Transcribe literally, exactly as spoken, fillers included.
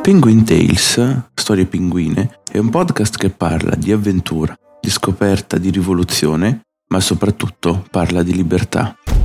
Penguin Tales, Storie pinguine, è un podcast che parla di avventura, di scoperta, di rivoluzione, ma soprattutto parla di libertà.